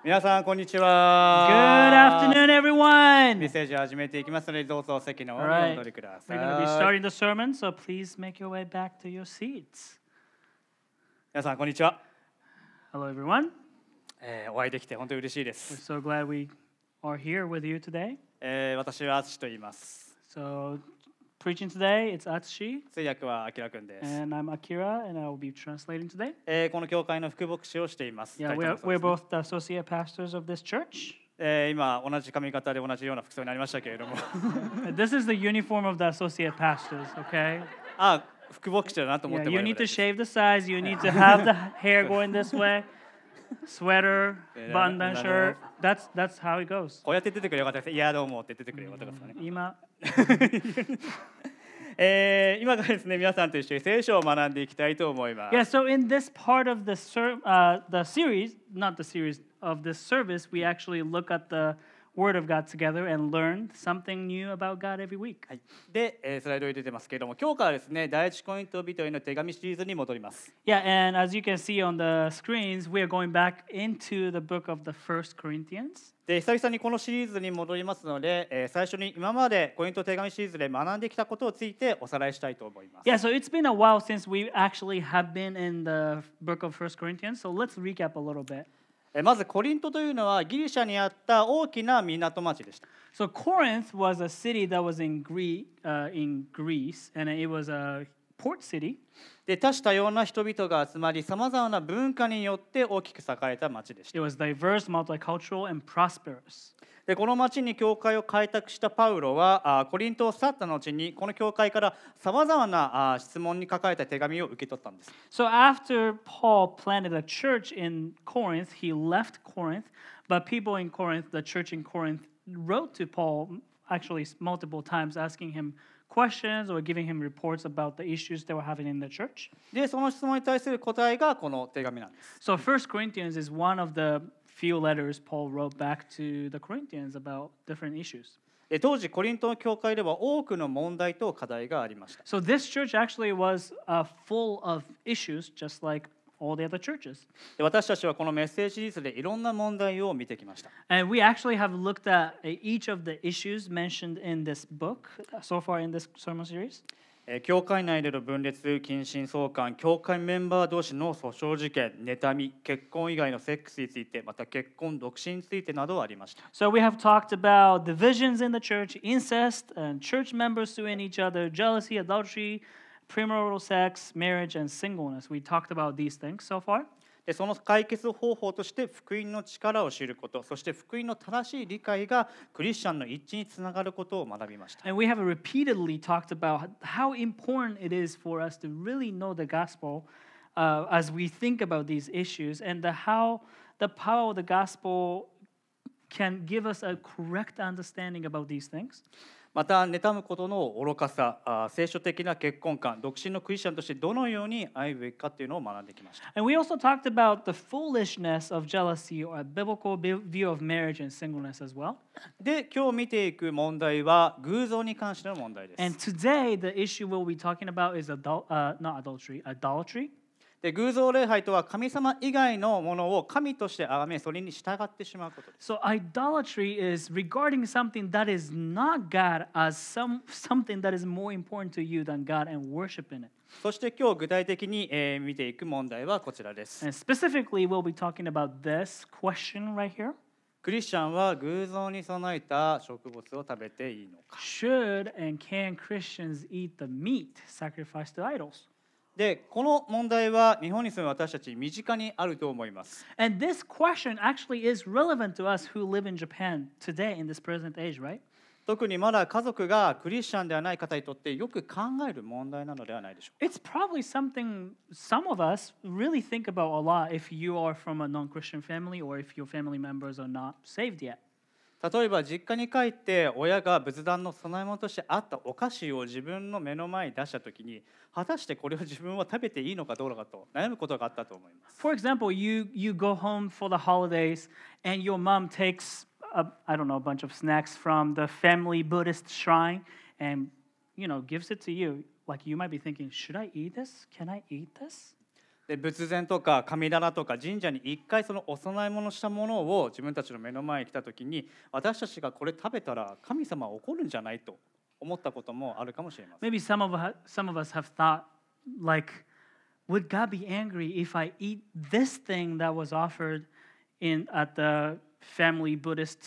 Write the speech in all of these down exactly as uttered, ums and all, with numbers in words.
皆さんこんにち Good は。 afternoon, メッ everyone. セージを始めていきますので、どうぞ席の方 All にお right, 戻りくださ we're going to be い。 starting the sermon, so please make your way back to your seats. 皆さんこんにちは。 Hello, everyone. えーお会いできて本当に嬉しいで We're す。 so glad we are here with you today. えー私は淳と言います。 So, preaching today, it's Atsushi, 通訳はあきらくんです。 and I'm Akira, and I will be translating today. えーこの教会の副牧師をしています。 Yeah, タイトル we're, もそうで we're すね both the associate pastors of this church. えー今同じ髪型で同じような服装になりましたけれども、 This is the uniform of the associate pastors, okay? あ、副牧師だなと思っ Yeah, て you もらえ need ば to 大丈夫です。 shave the sides, you need to have the hair going this way, sweater, button down shirt. That's, that's how it goes. こうやって出てくればよかったです。いやどうもって出てくればよかったですかね。 今えー今からですね、皆さんと一緒に聖書を学んでいきたいと思います。 Yeah, so in this part of the ser- uh, the series, not the series of this service, we actually look at the Word of God together and learn something new about God every week. はい、で、えースライドに出てますけれども、今日からですね、第一コリント人への手紙シリーズに戻ります。 Yeah, and as you can see on the screens, we are going back into the book of the First Corinthians. で、久々にこのシリーズに戻りますので、えー最初に今までコリント手紙シリーズで学んできたことをついておさらいしたいと思います。 Yeah, so it's been a while since we actually have been in the book of First Corinthians. So let's recap a little bit. えーまずコリントというのはギリシャにあった大きな港町でした。 So Corinth was a city that was in Greece, uh, in Greece, and it was a port city. で、多種多様な人々が集まり、さまざまな文化によって大きく栄えた町でした。 It was diverse, multicultural, and prosperous. で、この町に教会を開拓したパウロはあコリントを去った後にこの教会からさまざまなあ質問に書かれた手紙を受け取ったんです。 So after Paul planted a church in Corinth, he left Corinth, but people in Corinth, the church in Corinth, wrote to Paul actually multiple times asking him questions or giving him reports about the issues they were having in the church. で、その質問に対する答えがこの手紙なんです。 So First Corinthians is one of the few letters Paul wrote back to the Corinthians about different issues. で、当時コリントの教会では多くの問題と課題がありました。 So this church actually was uh, full of issues, just like all the other churches. で、私たちはこのメッセージシリーズでいろんな問題を見てきました。 And we actually have looked at uh, each of the issues mentioned in this book uh, so far in this sermon series. えー教会内での分裂、近親相関、教会メンバー同士の訴訟事件、妬み、結婚以外のセックスについて、また結婚、独身についてなどありました。 So we have talked about divisions in the church, incest, and church members suing each other, jealousy, adultery, premarital sex, marriage, and singleness. We talked about these things so far. で、その解決方法として福音の力を知ること、そして福音の正しい理解がクリスチャンの一致につながることを学びました。 And we have repeatedly talked about how important it is for us to really know the gospel uh, as we think about these issues and the, how the power of the gospel can give us a correct understanding about these things. また、妬むことの愚かさ、あ聖書的な結婚観、独身のクリスチャンとしてどのように歩むべきかというのを学んできました。 And we also talked about the foolishness of jealousy or a biblical view of marriage and singleness as well. で、今日見ていく問題は偶像に関しての問題です。 And today, the issue we'll be talking about is adul- uh, not adultery, idolatry. で、偶像礼拝とは神様以外のものを神として崇め、それに従ってしまうことです。 So idolatry is regarding something that is not God as some something that is more important to you than God and worshiping it. そして今日具体的に、えー見ていく問題はこちらです。 And specifically, we'll be talking about this question right here. クリスチャンは偶像に備えた植物を食べていいのか。 Should and can Christians eat the meat sacrificed to idols? で、この問題は日本に住む私たち身近にあると思います。 And this question actually is relevant to us who live in Japan today in this present age, right? 特にまだ家族がクリスチャンではない方にとってよく考える問題なのではないでしょうか。 It's probably something some of us really think about a lot if you are from a non-Christian family or if your family members are not saved yet. 例えば実家に帰って親が仏壇の供え物としてあったお菓子を自分の目の前に出したときに、果たしてこれを自分は食べていいのかどうかと悩むことがあったと思います。 For example, you you go home for the holidays and your mom takes a, I don't know, a bunch of snacks from the family Buddhist shrine and, you know, gives it to you. Like you might be thinking, should I eat this? Can I eat this? で仏前とか神棚とか神社に一回そのお供え物したものを自分たちの目の前に来た時に、私たちがこれ食べたら神様は怒るんじゃないと思ったこともあるかもしれません。 Maybe some of us, some of us have thought, like, would God be angry if I eat this thing that was offered in at the family Buddhist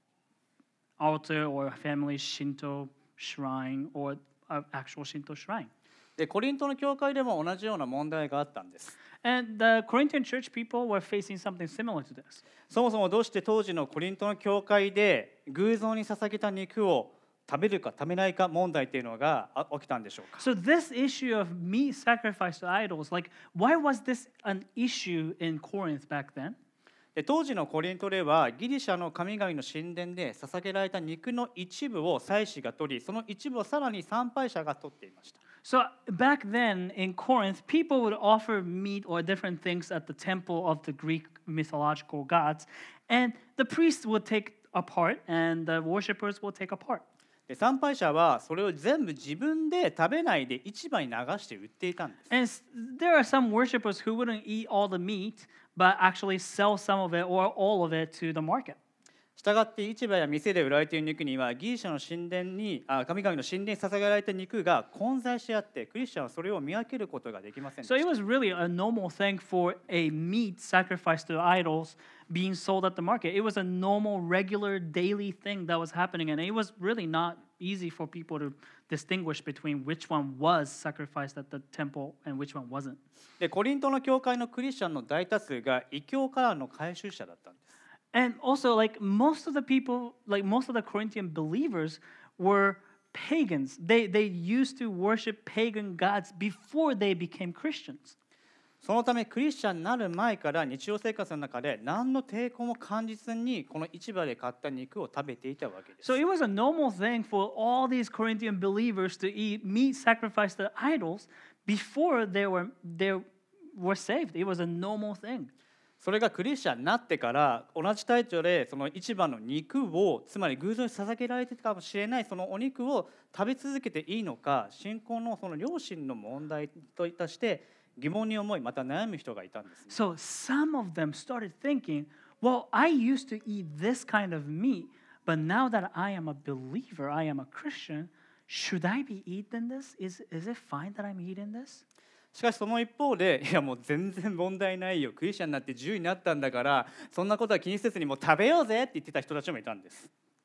altar or family Shinto shrine or an actual Shinto shrine? でコリントの教会でも同じような問題があったんです。 And the Corinthian church people were facing something similar to this. そもそもどうして当時のコリントの教会で偶像に捧げた肉を食べるか食べないか問題っていうのがあ起きたんでしょうか。 So this issue of meat sacrificed to idols, like, why was this an issue in Corinth back then? で当時のコリントではギリシャの神々の神殿で捧げられた肉の一部を祭司が取り、その一部をさらに参拝者が取っていました。 So back then in Corinth, people would offer meat or different things at the temple of the Greek mythological gods, and the priests would take a part and the worshippers would take a part. で参拝者はそれを全部自分で食べないで市場に流して売っていたんです。 And s- there are some worshippers who wouldn't eat all the meat, but actually sell some of it or all of it to the market. したがって市場や店で売られている肉にはギリシャの神殿にあ神々の神殿に捧げられた肉が混在し合って、クリスチャンはそれを見分けることができませんで So し it た。 was really a normal thing for a meat sacrificed to idols being sold at the market. It was a normal, regular, daily thing that was happening, and it was really not easy for people to distinguish between which one was sacrificed at the temple and which one wasn't. でコリントの教会のクリスチャンの大多数が異教からの回収者だったんです。 And also, like, most of the people, like most of the Corinthian believers were pagans. They, they used to worship pagan gods before they became Christians. そのためクリスチャンになる前から日常生活の中で何の抵抗も感じずにこの市場で買った肉を食べていたわけです。 So it was a normal thing for all these Corinthian believers to eat meat sacrificed to idols before they were, they were saved. It was a normal thing. それがクリスチャンになってから同じ態度でその市場の肉を、つまり偶像に捧げられていたかもしれないそのお肉を食べ続けていいのか、信仰のその良心の問題といたして疑問に思い、また悩む人がいたんですね。 So some of them started thinking, well, I used to eat this kind of meat, but now that I am a believer, I am a Christian, should I be eating this? Is, is it fine that I'm eating this? しかしその一方で、いやもう全然問題ないよ、クリスチャンになって自由になったんだからそんなことは気にせずにもう食べようぜって言ってた人たちもいたんです。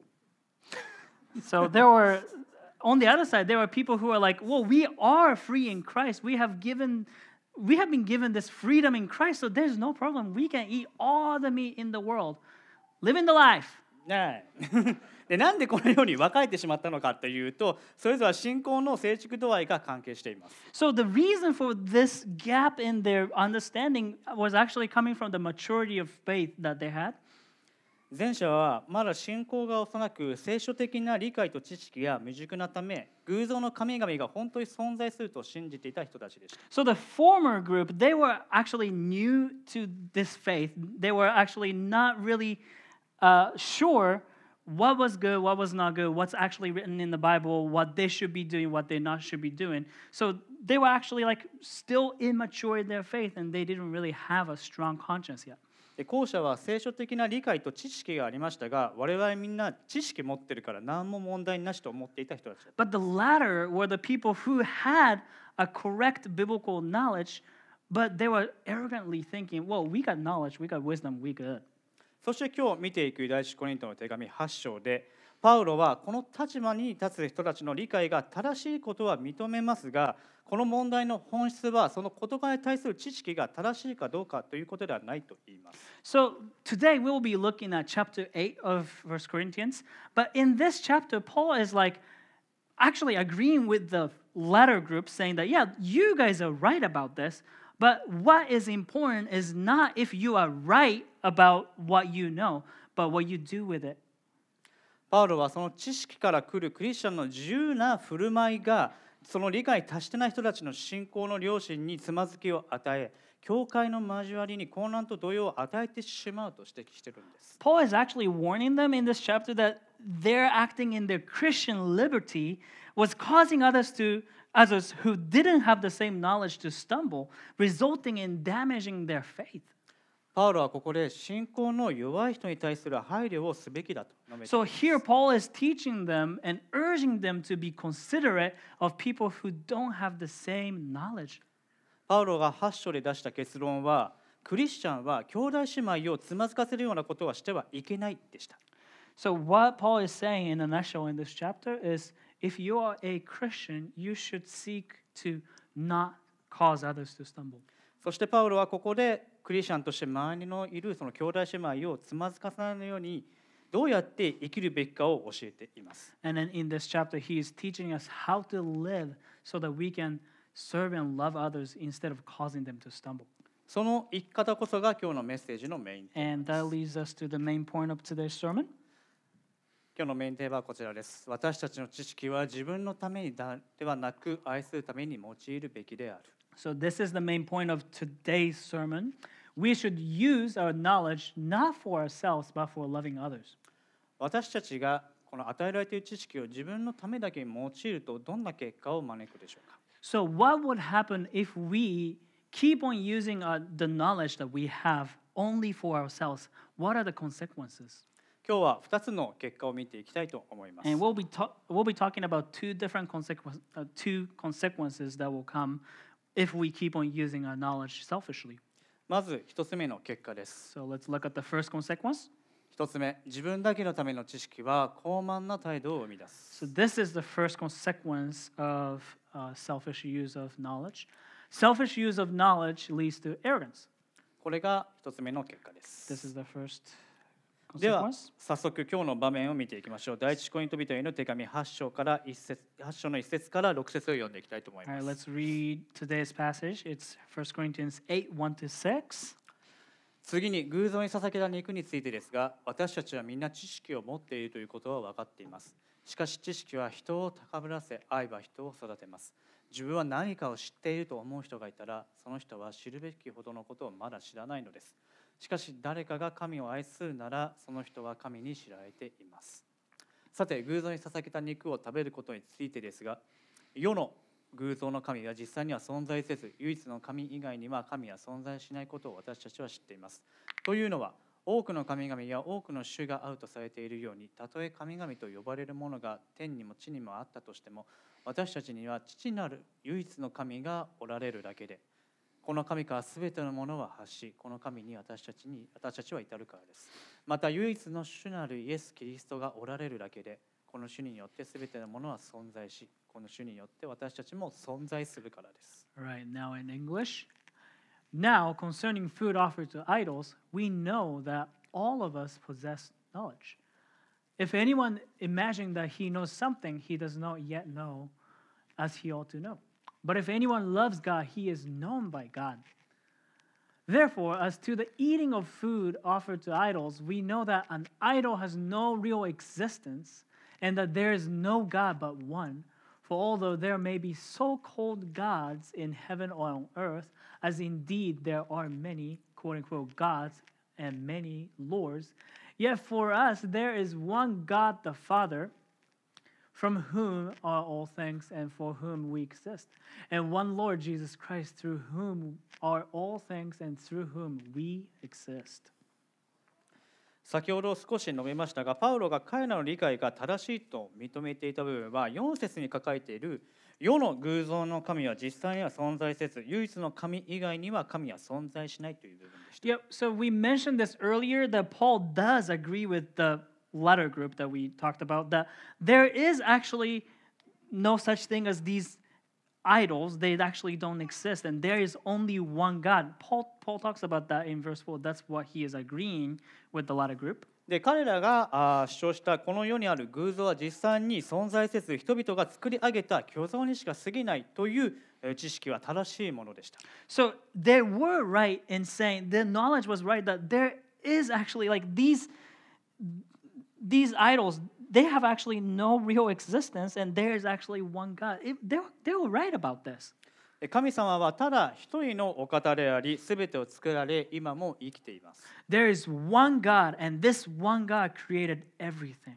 So there were, on the other side, there were people who are like, well, we are free in Christ. We have given, we have been given this freedom in Christ, so there's no problem. We can eat all the meat in the world. Living the life. ねえでなんでこのように分かれてしまったのかというと、それぞれは信仰の成熟度合いが関係しています。 So the reason for this gap in their understanding was actually coming from the maturity of faith that they had. 前者はまだ信仰が幼く聖書的な理解と知識が未熟なため、偶像の神々が本当に存在すると信じていた人たちでした。 So the former group, they were actually new to this faith. They were actually not really uh, sure what was good, what was not good, what's actually written in the Bible, what they should be doing, what they not should be doing. So they were actually like still immature in their faith, and they didn't really have a strong conscience yet. で後者は聖書的な理解と知識がありましたが、我々みんな知識持ってるから何も問題なしと思っていた人たちだった。 But the latter were the people who had a correct biblical knowledge, but they were arrogantly thinking, well, we got knowledge, we got wisdom, we good. そして今日見ていく第一コリントの手紙はち章で、パウロはこの立場に立つ人たちの理解が正しいことは認めますが、この問題の本質はその言葉に対する知識が正しいかどうかということではないと言います。 So today we'll be looking at chapter eight of First Corinthians, but in this chapter, Paul is like actually agreeing with the latter group, saying that, yeah, you guys are right about this, but what is important is not if you are right about what you know, but what you do with it. パウロはその知識から来るクリスチャンの自由な振る舞いがその理解に達してない人たちの信仰の良心につまずきを与え、教会の交わりに混乱と動揺を与えてしまうと指摘しているんです。 Paul is actually warning them in this chapter that their acting in their Christian liberty was causing others to others who didn't have the same knowledge to stumble, resulting in damaging their faith. パウロはここで信仰の弱い人に対する配慮をすべきだと述べています。 So here Paul is teaching them and urging them to be considerate of people who don't have the same knowledge. パウロがはち章で出した結論は、クリスチャンは兄弟姉妹をつまずかせるようなことはしてはいけないでした。 So what Paul is saying in a nutshell in this chapter is, if you are a Christian, you should seek to not cause others to stumble. そしてパウロはここでクリスチャンとして周りのいるその兄弟姉妹をつまずかせないようにどうやって生きるべきかを教えています。 And then in this chapter, he is teaching us how to live so that we can serve and love others instead of causing them to stumble. その生き方こそが今日のメッセージのメインテーマ And です。 that leads us to the main point of today's sermon. 今日のメインテーマはこちらです。私たちの知識は自分のためにではなく愛するために用いるべきである。 So this is the main point of today's sermon. We should use our knowledge not for ourselves, but for loving others. 私たちがこの与えられている知識を自分のためだけに用いるとどんな結果を招くでしょうか。 So what would happen if we keep on using uh, the knowledge that we have only for ourselves? What are the consequences? 今日はふたつの結果を見ていきたいと思います。 And we'll be ta- we'll be talking about two different consequences, uh, two consequences that will come if we keep on using our knowledge selfishly. まずひとつめの結果です。 So let's look at the first consequence. ひとつめ、自分だけのための知識は傲慢な態度を生み出す。 So this is the first consequence of uh, selfish use of knowledge. Selfish use of knowledge leads to arrogance. これがひとつめの結果で This す。 is the first では consequence. 早速今日の場面を見ていきましょう。第一コリント人への手紙はち章からいち節はち章のいち節からろく節を読んでいきたいと思い All ま right, す。 let's read today's passage. It's First Corinthians eight, one to six. 次に偶像に捧げた肉についてですが、私たちはみんな知識を持っているということは分かっています。しかし知識は人を高ぶらせ、愛は人を育てます。自分は何かを知っていると思う人がいたら、その人は知るべきほどのことをまだ知らないのです。しかし誰かが神を愛するなら、その人は神に知られています。さて、偶像に捧げた肉を食べることについてですが、世の偶像の神は実際には存在せず、唯一の神以外には神は存在しないことを私たちは知っています。というのは、多くの神々や多くの種があるとされているように、たとえ神々と呼ばれるものが天にも地にもあったとしても、私たちには父なる唯一の神がおられるだけで、この神からすべてのものは発し、この神に私たちに私たちは至るからです。また唯一の主なるイエス・キリストがおられるだけで、この主によってすべてのものは存在し、この主によって私たちも存在するからです。 All right, now in English. Now, concerning food offered to idols, we know that all of us possess knowledge. If anyone imagines that he knows something he does not yet know, as he ought to know. But if anyone loves God, he is known by God. Therefore, as to the eating of food offered to idols, we know that an idol has no real existence and that there is no God but one. For although there may be so-called gods in heaven or on earth, as indeed there are many, quote-unquote, gods and many lords, yet for us there is one God the Father, from whom are all things and for whom we exist, and one Lord Jesus Christ, through whom are all things and through whom we exist. 先ほど少し述べましたが、パウロが彼らの理解が正しいと認めていた部分は、よん節に書かれている世の偶像の神は実際には存在せず、唯一の神以外には神は存在しないという部分でした。 Yep, so we mentioned this earlier that Paul does agree with the letter group that we talked about, that there is actually no such thing as these idols. They actually don't exist, and there is only one God. Paul, Paul talks about that in verse four. That's what he is agreeing with the letter group. で彼らがあ主張したこの世にある偶像は実際に存在せず、人々が作り上げた虚像にしか過ぎないという知識は正しいものでした。 So they were right in saying, the knowledge was right that there is actually like these these idols, they have actually no real existence, and there is actually one God. It, they, they were right about this. 神様はただ一人のお方であり、すべてを作られ、今も生きています。 There is one God, and this one God created everything.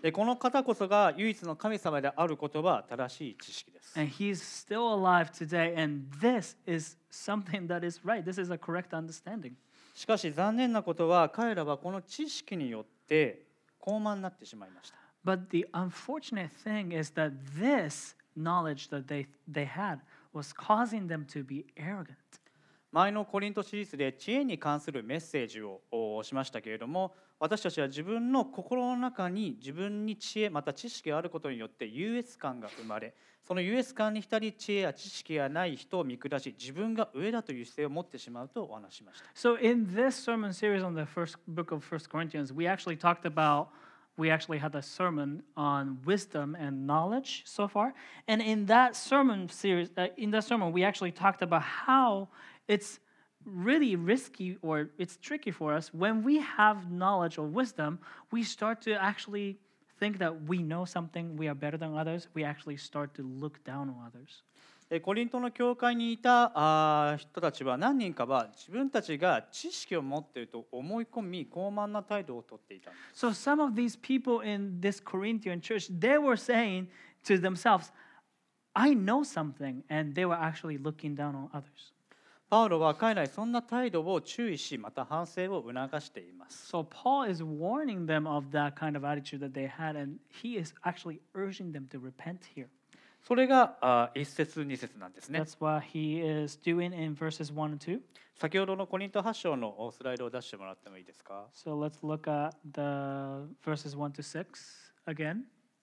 でこの方こそが唯一の神様であることは正しい知識です。 And he's still alive today, and this is something that is right. This is a correct understanding. しかし残念なことは彼らはこの知識によって高慢になってしまいました。 But the unfortunate thing is that this knowledge that they, they had was causing them to be arrogant. 前のコリントシリーズで知恵に関するメッセージをしましたけれども、私たちは自分の心の中に自分に知恵また知識があることによって優越感が生まれ、その優越感に浸り知恵や知識がない人を見下し、自分が上だという姿勢を持ってしまうとお話ししました。 So in this sermon series on the first book of First Corinthians, we actually talked about we actually had a sermon on wisdom and knowledge so far. And in that sermon series, uh, in that sermon, we actually talked about how it's really risky or it's tricky for us when we have knowledge or wisdom, we start to actually think that we know something, we are better than others. We actually start to look down on others. コリントの教会にいたあ人たちは何人かは自分たちが知識を持っていると思い込み高慢な態度をとっていたんです。 So some of these people in this Corinthian church, they were saying to themselves, I know something, and they were actually looking down on others. パウロは彼らにそんな態度を注意し、また反省を促しています。 So Paul is warning them of that kind of attitude that they had, and he is actually urging them to repent here. それがあ一節二節なんですね。 That's what he is doing in verses one and two. 先ほどのコリントはち章のスライドを出してもらってもいいですか。 So let's look at the verses one to six again.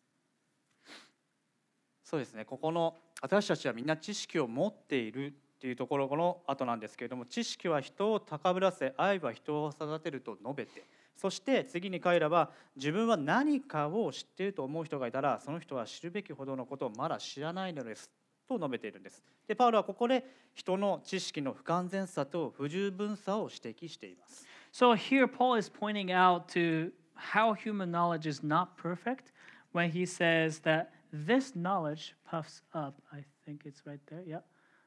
そうですね。ここの私たちはみんな知識を持っているというところの後なんですけれども、知識は人を高ぶらせ、愛は人を育てると述べて、そして次に彼らは自分は何かを知っていると思う人がいたら、その人は知るべきほどのことをまだ知らないのですと述べているんです。で、パウロはここで人の知識の不完全さと不十分さを指摘しています。 So here Paul is pointing out to how human knowledge is not perfect when he says that this knowledge puffs up. I think it's right there. Yeah.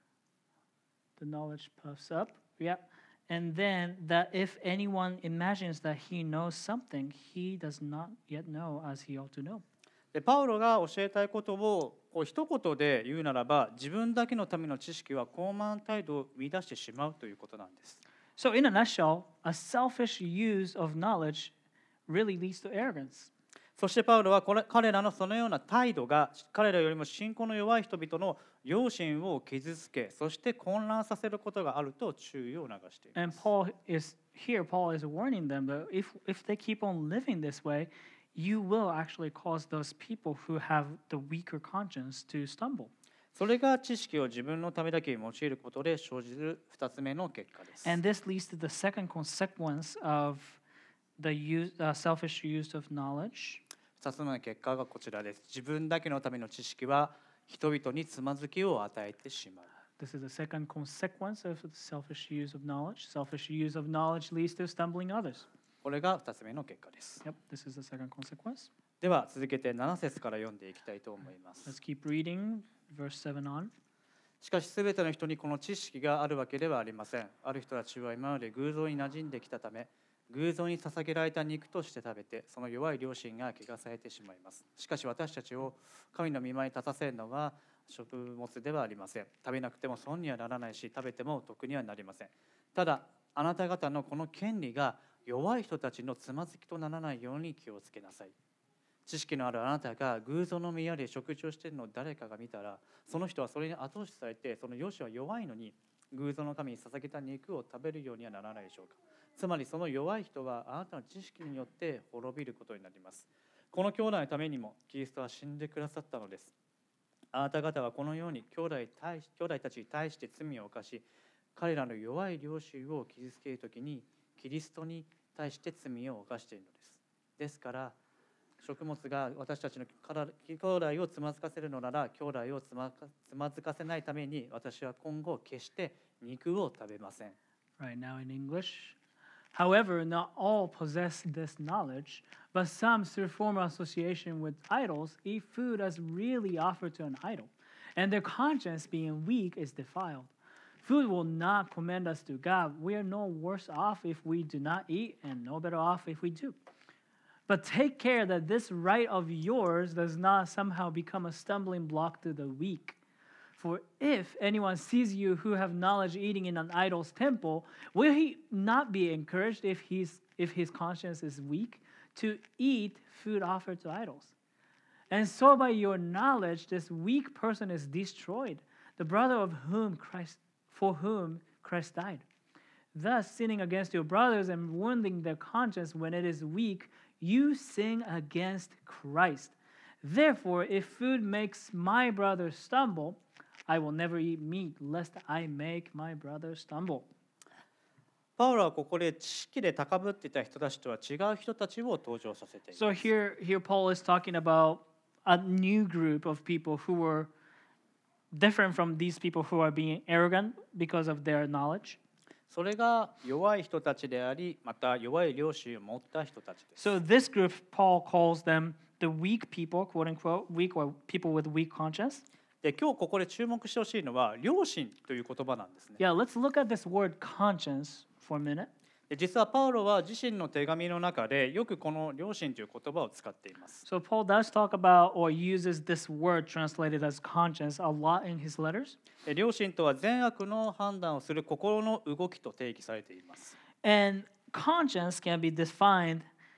The knowledge puffs up. Yeah. And then that if anyone imagines that he knows something, he does not yet know as he ought to know. でパウロが教えたいことをこう一言で言うならば、自分だけのための知識は高慢態度を生み出してしまうということなんです。 So in a nutshell, a selfish use of knowledge really leads to arrogance. そしてパウロはこれ彼らのそのような態度が彼らよりも信仰の弱い人々の良心を傷つけ、そして混乱させることがあると注意を促していま And す。 Paul is here, Paul is warning them that if, if they keep on living this way, you will actually cause those people who have the weaker conscience to stumble. それが知識を自分のためだけに用いることで生じる二つ目の結果です。 And this leads to the second consequence of the use, uh, selfish use of knowledge. 二つ目の結果がこちらです。自分だけのための知識は人々につまずきを与えてしまう。 This is the second consequence of the selfish use of knowledge. Selfish use of knowledge leads to stumbling others. これが二つ目の結果です。 Yep, this is the second consequence. では続けてなな節から読んでいきたいと思います。 Let's keep reading verse seven on. しかしすべての人にこの知識があるわけではありません。ある人たちは今まで偶像に馴染んできたため、偶像に捧げられた肉として食べて、その弱い良心が汚されてしまいます。しかし私たちを神の御前に立たせるのは食物ではありません。食べなくても損にはならないし、食べても得にはなりません。ただ、あなた方のこの権利が弱い人たちのつまずきとならないように気をつけなさい。知識のあるあなたが偶像の宮で食事をしているのを誰かが見たら、その人はそれに後押しされて、その良心は弱いのに偶像の神に捧げた肉を食べるようにはならないでしょうか。つまりその弱い人はあなたの知識によって滅びることになります。この兄弟のためにもキリストは死んでくださったのです。あなた方はこのように兄弟対し兄弟たちに対して罪を犯し、彼らの弱い良心を傷つけるときにキリストに対して罪を犯しているのです。ですから食物が私たちの兄弟をつまずかせるのなら、兄弟をつまつまずかせないために私は今後決して肉を食べません。 Right now in English. However, not all possess this knowledge, but some, through former association with idols, eat food as really offered to an idol, and their conscience, being weak, is defiled. Food will not commend us to God. We are no worse off if we do not eat, and no better off if we do. But take care that this right of yours does not somehow become a stumbling block to the weak. For if anyone sees you who have knowledge eating in an idol's temple, will he not be encouraged if he's if his conscience is weak to eat food offered to idols? And so by your knowledge, this weak person is destroyed, the brother of whom Christ for whom Christ died. Thus, sinning against your brothers and wounding their conscience when it is weak, you sin against Christ. Therefore, if food makes my brother stumble, I will never eat meat, lest I make my brother stumble. パウロはここで知識で高ぶっていた人たちとは違う人たちを登場させています。 So here, here Paul is talking about a new group of people who were different from these people who are being arrogant because of their knowledge. それが弱い人たちであり、また弱い良心を持った人たちです。 So this group, Paul calls them the weak people, quote unquote, weak or people with weak conscience. で、今日ここで注目してほしいのは良心という言葉なんですね。 Yeah, let's look at this word conscience for a minute. で、実はパウロは自身の手紙の中でよくこの良心という言葉を使っています。 So Paul does talk about or uses this word translated as conscience a lot in his letters. で、良心とは善悪の判断をする心の動きと定義されています。 And conscience can be defined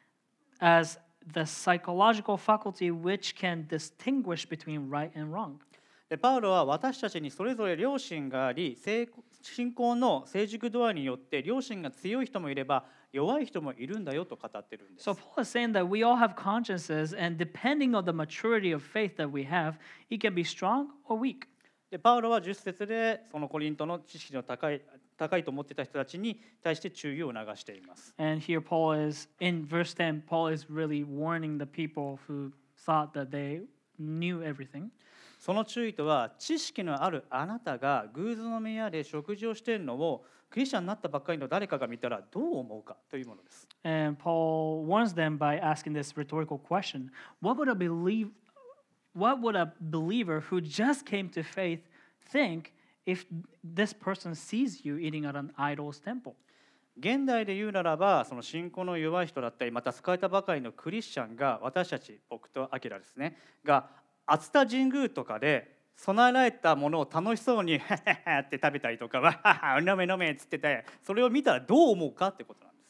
as the psychological faculty which can distinguish between right and wrong. で、パウロは私たちにそれぞれ良心があり、成信仰の成熟度合いによって良心が強い人もいれば弱い人もいるんだよと語ってるんです。 So Paul is saying that we all have consciences, and depending on the maturity of faith that we have, it can be strong or weak. で、パウロはじゅっ節でそのコリントの知識の高い高いと思っていた人たちに対して注意を促しています。 And here Paul is, in verse ten, Paul is really warning the people who thought that they knew everything. その注意とは、知識のあるあなたが偶像の宮で食事をしているのをクリスチャンになったばっかりの誰かが見たらどう思うかというものです。 And Paul warns them by asking this rhetorical question: What would a believe, what would a believer who just came to faith think if this person sees you eating at an idol's temple? 現代で言うならば、その信仰の弱い人だったり、また救われたばかりのクリスチャンが、私たち、僕とアキラですね、が熱田神宮とかで備えられたものを楽しそうにハハハって食べたりとか、わはは飲め飲めっつってて、それを見たらどう思うかってことなんです。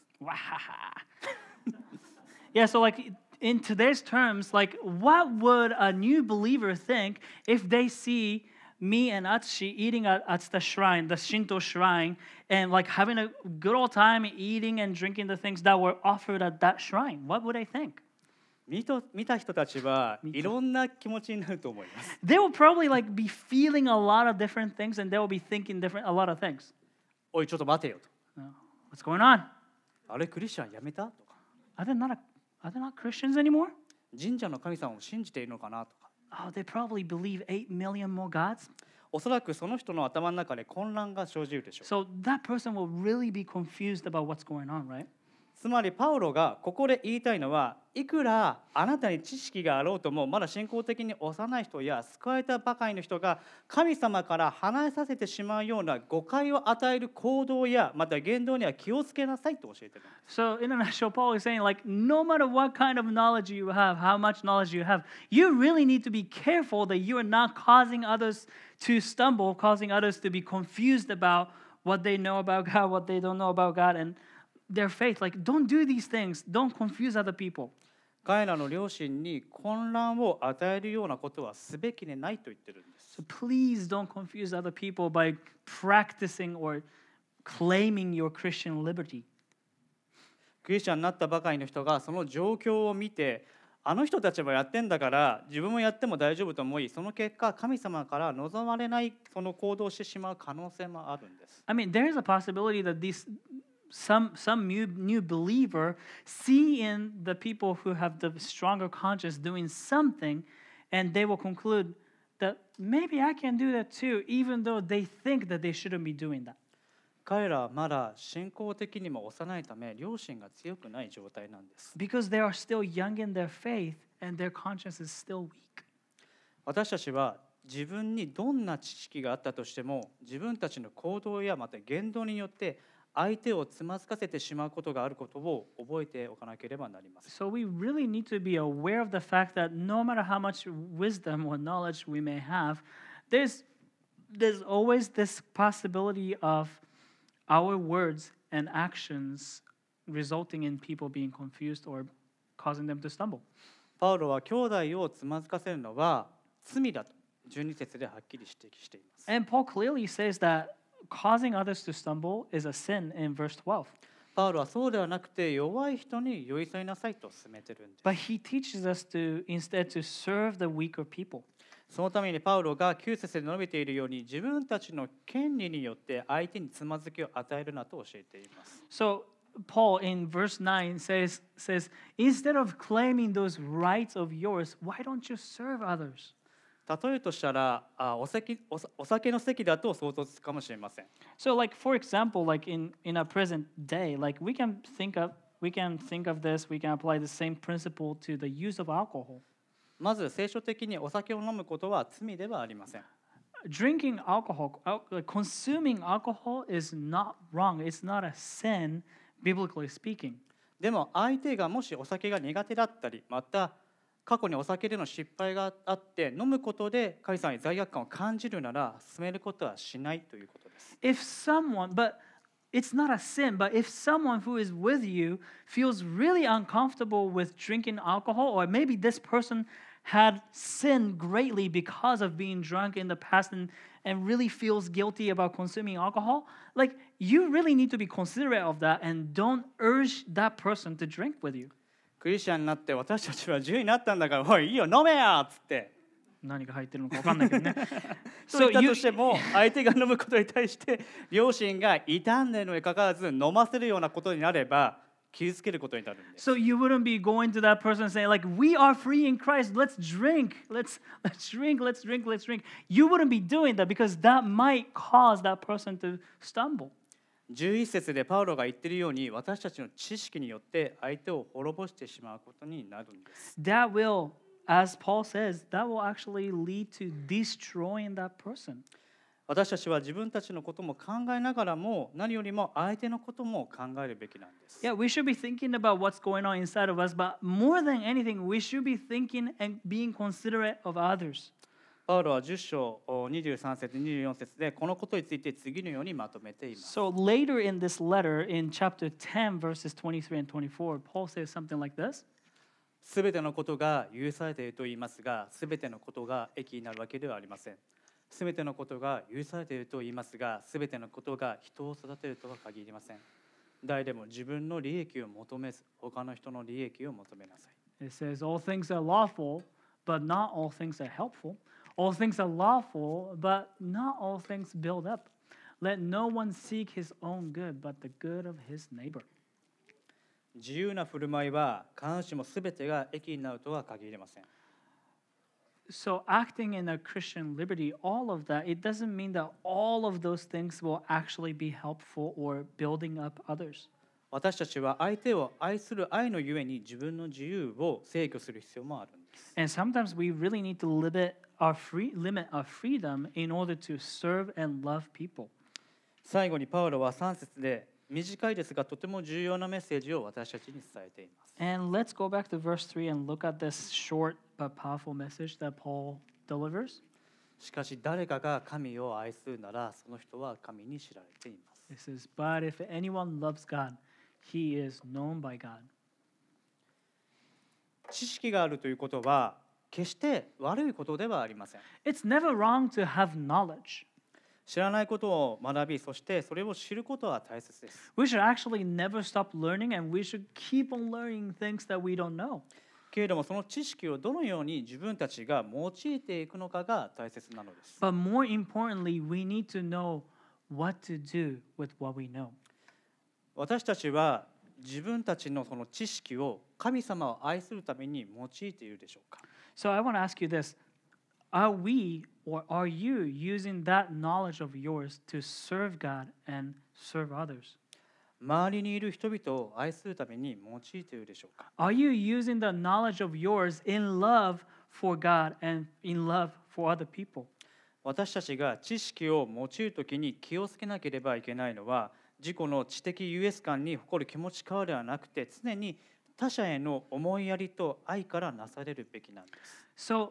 Yeah, so like in today's terms, like what would a new believer think if they see me and Atsushi eating at, at the shrine, the Shinto shrine, and like having a good old time eating and drinking the things that were offered at that shrine? What would they think? 見と見た人たちはいろんな気持ちになると思います。 They will probably like be feeling a lot of different things, and they will be thinking different a lot of things. おいちょっと待てよと。 No. What's going on? あれクリスチャンやめたとか。 Are they not a, are they not Christians anymore? 神社の神様を信じているのかなとか。 Oh, they probably believe eight million more gods. おそらくその人の頭の中で混乱が生じるでしょう。 So that person will really be confused about what's going on, right? つまりパウロがここで言いたいのは、いくらあなたに知識があろうともまだ信仰的に幼い人や救われたばかりの人が神様から離れさせてしまうような誤解を与える行動やまた言動には気をつけなさいと教えている。 So in a nutshell, Paul is saying, like, no matter what kind of knowledge you have, how much knowledge you have, you really need to be careful that you are not causing others to stumble, causing others to be confused about what they know about God, what they don't know about God, and their faith. Like, don't do these things. Don't confuse other people. 彼らの両親に混乱を与えるようなことはすべきでないと言ってるんです。 So please don't confuse other people by practicing or claiming your Christian liberty. クリスチャンになったばかりの人がその状況を見て、あの人たちもやってんだから自分もやっても大丈夫と思い、その結果神様から望まれないその行動をしてしまう可能性もあるんです。 I mean, there is a possibility that these some some new new believer see in the people who have the stronger conscience doing something, and they will conclude that maybe I can do that too, even though they think that they shouldn't be doing that. 彼らはまだ信仰的にも幼いため、良心が強くない状態なんです。 Because they are still young in their faith and their conscience is still weak. 私たちは自分にどんな知識があったとしても、自分たちの行動やまた言動によって相手をつまずかせてしまうことがあることを覚えておかなければなりません。 So we really need to be aware of the fact that no matter how much wisdom or knowledge we may have, there's there's always this possibility of our words and actions resulting in people being confused or causing them to stumble. パウロは兄弟をつまずかせるのは罪だとじゅうに節ではっきり指摘しています。 And Paul clearly says that causing others to stumble is a sin in verse twelve. パウロはそうではなくて弱い人に寄り添いなさいと勧めてるんです。 But he teaches us to instead to serve the weaker people. そのためにパウロがきゅう節で述べているように自分たちの権利によって相手につまずきを与えるなと教えています。 So Paul in verse nine says, says, instead of claiming those rights of yours, why don't you serve others? 例えとしたらあお酒、おお酒の席だと想像つくかもしれません。 So like for example, like in, in our present day, like we can think of we can think of this, we can apply the same principle to the use of alcohol. まず聖書的にお酒を飲むことは罪ではありません。 Drinking alcohol, al- like consuming alcohol is not wrong. It's not a sin, biblically speaking. でも相手がもしお酒が苦手だったり、また過去にお酒での失敗があって飲むことで神様に罪悪感を感じるなら進めることはしないということです。 If someone, but it's not a sin, but if someone who is with you feels really uncomfortable with drinking alcohol, or maybe this person had sinned greatly because of being drunk in the past and, and really feels guilty about consuming alcohol, like you really need to be considerate of that and don't urge that person to drink with you. クリスチャンになって私たちは自由になったんだから、おいいいよ飲めやっつって何が入ってるのか分かんないけどね。 そう So 言った you, としても相手が飲むことに対して両親が傷んでいるのにかかわらず飲ませるようなことになれば傷つけることになるんです。 so you wouldn't be going to that person and saying like, we are free in Christ, let's drink, let's let's drink, let's drink, let's drink. You wouldn't be doing that because that might cause that person to stumble. じゅういち節でパウロが言っているように私たちの知識によって相手を滅ぼしてしまうことになるんです。 That will, as Paul says, that will actually lead to destroying that person. 私たちは自分たちのことも考えながらも何よりも相手のことも考えるべきなんです。 Yeah, we should be thinking about what's going on inside of us, but more than anything, we should be thinking and being considerate of others. パウロはじゅっ章にじゅうさん節にじゅうよん節でこのことについて次のようにまとめています。 So later in this letter, in chapter ten, verses twenty-three and twenty-four, Paul says something like this. すべてのことが許されていると言いますが、すべてのことが益になるわけではありません。すべてのことが許されていると言いますが、すべてのことが人を育てるとは限りません。誰でも自分の利益を求めず、他の人の利益を求めなさい。 It says, all things are lawful, but not all things are helpful. All things are lawful, but not all things build up. Let no one seek his own good, but the good of his neighbor. 自由な振る舞いは必ずしもすべてが益になるとは限りません。 So acting in a Christian liberty, all of that, it doesn't mean that all of those things will actually be helpful or building up others. 私たちは相手を愛する愛のゆえに自分の自由を制御する必要もあるんです。 And sometimes we really need to limit our free limit our freedom in order to serve and love people. 最後にパウロはさん節で短いですがとても重要なメッセージを私たちに伝えています。 And let's go back to verse three and look at this short but powerful message that Paul delivers. しかし誰かが神を愛するならその人は神に知られています。 It says, but if anyone loves God, he is known by God. 知識があるということは決して悪いことではありません。 It's never wrong to have knowledge. 知らないことを学び、そしてそれを知ることは大切です。 We should actually never stop learning and we should keep on learning things that we don't know. けれどもその知識をどのように自分たちが用いていくのかが大切なのです。 But more importantly, we need to know what to do with what we know. 私たちは自分たちのその知識を神様を愛するために用いているでしょうか。 So I want to ask you this. Are we or are you using that knowledge of yours to serve God and serve others? 周りにいる人々を愛するために用いているでしょうか。 Are you using the knowledge of yours in love for God and in love for other people? 私たちが知識を用いるときに気をつけなければいけないのは自己の知的優越感に誇る気持ちからではなくて、常に他者への思いやりと愛からなされるべきなんです。 So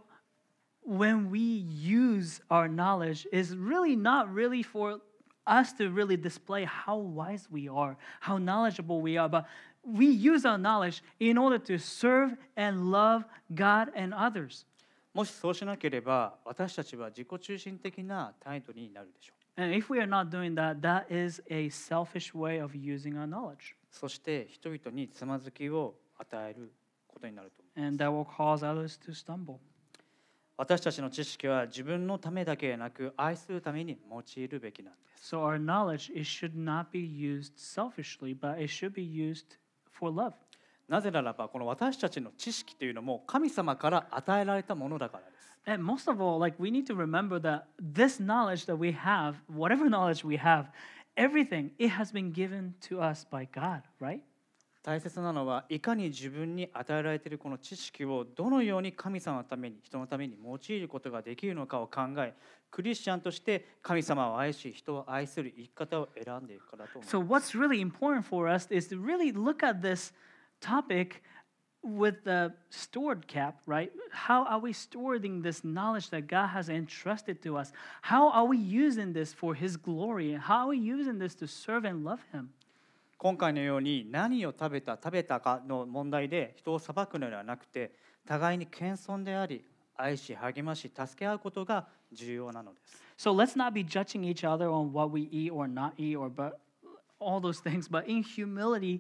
when we use our knowledge is really not really for us to really display how wise we are, how knowledgeable we are, but we use our knowledge in order to serve and love God and others. もしそうしなければ、私たちは自己中心的な態度になるでしょう。 And if we are not doing that, that is a selfish way of using our knowledge. そして人々につまずきを与えることになると思います。 And that will cause others to stumble. 私たちの知識は自分のためだけでなく、愛するために用いるべきなんです。 So our knowledge, it should not be used selfishly, but it should be used for love. なぜならば、この私たちの知識というのも神様から与えられたものだからです。 And most of all, like we need to remember that this knowledge that we have, whatever knowledge we have, everything, it has been given to us by God, right? 大切なのは、いかに自分に与えられているこの知識をどのように神様のために、人のために用いることができるのかを考え、クリスチャンとして神様を愛し、人を愛する生き方を選んでいくからと思います。 So what's really important for us is to really look at this topic with the stored cap, right? How are we stewarding this knowledge that God has entrusted to us? How are we using this for His glory? How are we using this to serve and love Him? 今回のように何を食べた食べたかの問題で人を裁くのではなくて、互いに謙遜であり、愛し励まし助け合うことが重要なのです。 So let's not be judging each other on what we eat or not eat or but all those things, but in humility,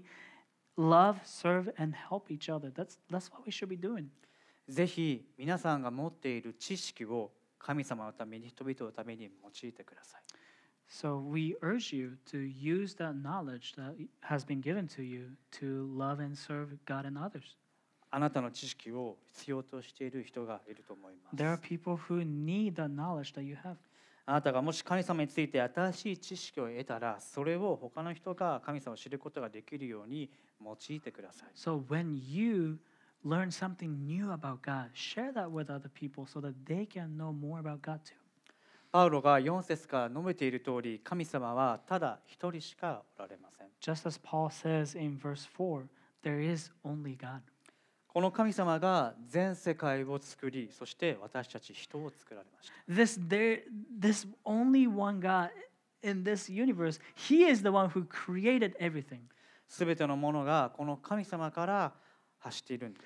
love, serve, and help each other. That's that's what we should be doing. ぜひ皆さんが持っている知識を神様のために、人々のために用いてください。 So we urge you to use that knowledge that has been given to you to love and serve God and others. あなたの知識を必要としている人がいると思います。 There are people who need the knowledge that you have. あなたがもし神様について新しい知識を得たら、それを他の人が神様を知ることができるように用いてください。 So when you learn something new about God, share that with other people so that they can know more about God too. パウロがよん節から述べている通り、神様はただ一人しかおられません。 Just as Paul says in verse four, there is only God. この神様が全世界を作り、そして私たち人を作られました。 This there this only one God in this universe, He is the one who created everything. すべてのものがこの神様から発しているんです。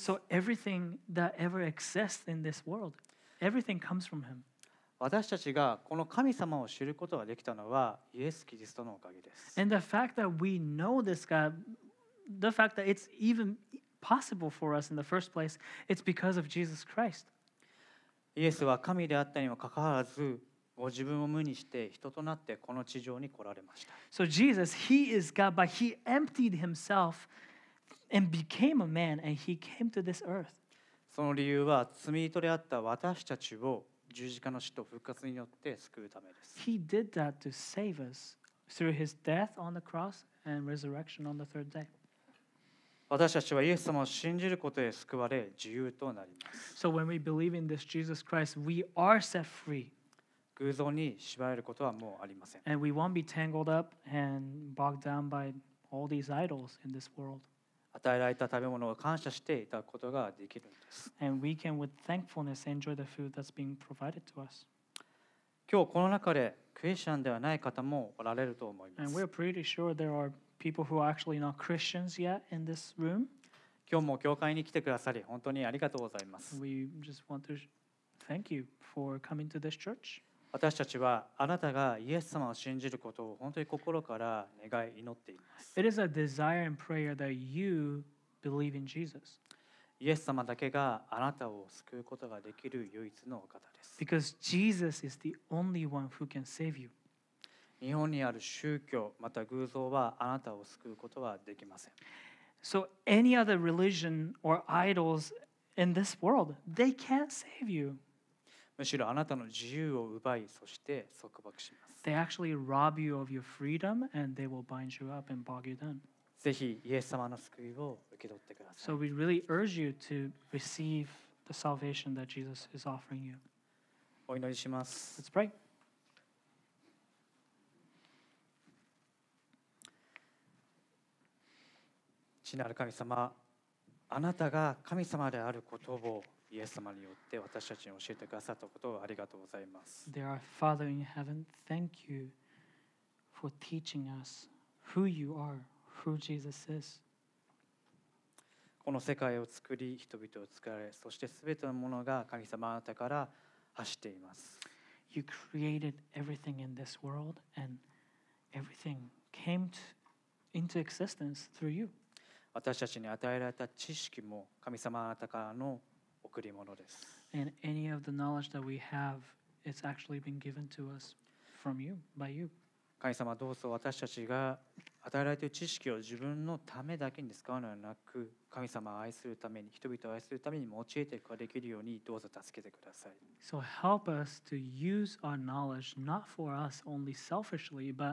So everything that ever exists in this world, everything comes from Him. 私たちがこの神様を知ることができたのはイエス・キリストのおかげです。 And the fact that we know this God, the fact that it's even possible for us in the first place, it's because of Jesus Christ. イエスは神であったにもかかわらず、ご自分を無にして人となってこの地上に来られました。 So Jesus, He is God, but He emptied Himself and became a man, and He came to this earth. その理由は罪人であった私たちを十字架の死と復活によって救うためです。 He did that to save us through His death on the cross and resurrection on the third day. 私たちはイエス様を信じることで救われ、自由となります。 So when we believe in this Jesus Christ, we are set free, 偶像に縛られることはもうありません。 and we won't be tangled up and bogged down by all these idols in this world. 与えられた食べ物を感謝していただくことができるんです。 And we can, with thankfulness, enjoy the food that's being provided to us. 今日この中でクリスチャンではない方もおられると思いま And す。 we're pretty sure there are people who are actually not Christians yet in this room. 今日も教会に来てくださり本当にありがとうございます。 We just want to thank you for coming to this church. 私たちはあなたがイエス様を信じることを本当に心から願い祈っています。 It is a desire and prayer that you believe in Jesus. イエス様だけがあなたを救うことができる唯一のお方です。 Because Jesus is the only one who can save you. 日本にある宗教また偶像はあなたを救うことはできません。 So any other religion or idols in this world, they can't save you. むしろあなたの自由を奪い、そして束縛します。 They actually rob you of your freedom and they will bind you up and bog you down. ぜひイエス様の救いを受け取ってください。 So we really urge you to receive the salvation that Jesus is offering you. お祈りします。 Let's pray. 父なる神様、あなたが神様であることをイエス様によって私たちに教えてくださったことをありがとうございます。 Dear our Father in heaven, thank you for teaching us who you are, who Jesus is. この世界を作り、人々を作られ、そしてすべてのものが神様あなたから発しています。 You created everything in this world, and everything came to, into existence through you. 私たちに与えられた知識も神様あなたからの贈り物です。 And any of the knowledge that we have, it's actually been given to us from you, by you. 神様、どうぞ私たちが与えられている知識を自分のためだけに使うのではなく、神様を愛するために、人々を愛するために用いていくことができるようにどうぞ助けてください。 So help us to use our knowledge not for us only selfishly, but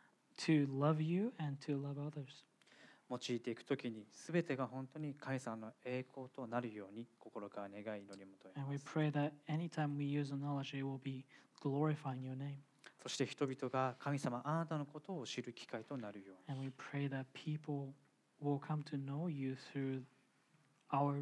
to love you and to love others. 用いていくときに、すべてが本当に神様の栄光となるように心から願い祈り求め And ま we す。 pray that anytime we use the knowledge, it will be glorifying your name. そして人々が神様あなたのことを知る機会となるように。 And we pray that people will come to know you through our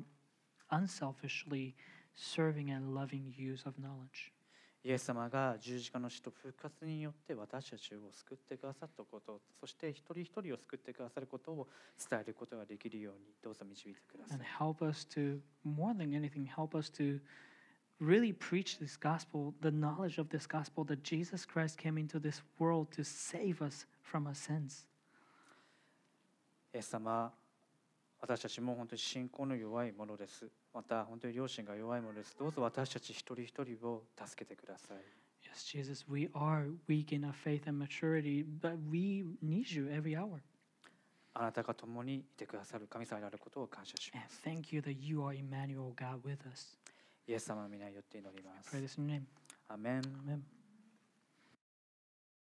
unselfishly serving and loving use of knowledge. イエス様が十字架の死と復活によって私たちを救ってくださったこと、そして一人一人を救ってくださることを伝えることができるようにどうぞ導いてください。 And help us to, more than anything, help us to really preach this gospel, the knowledge of this gospel that Jesus Christ came into this world to save us from our sins. イエス様、私たちも本当に信仰の弱いものです。また本当に良心が弱いものです。どうぞ私たち一人一人を助けてください。 Yes, Jesus, we are weak in our faith and maturity, but we need you every hour. あなたが共にいてくださる神様であることを感謝しま And す。 thank you that you are Emmanuel, God with us. イエス様の皆によって祈ります Pray。this in your name. アーメン。 Amen.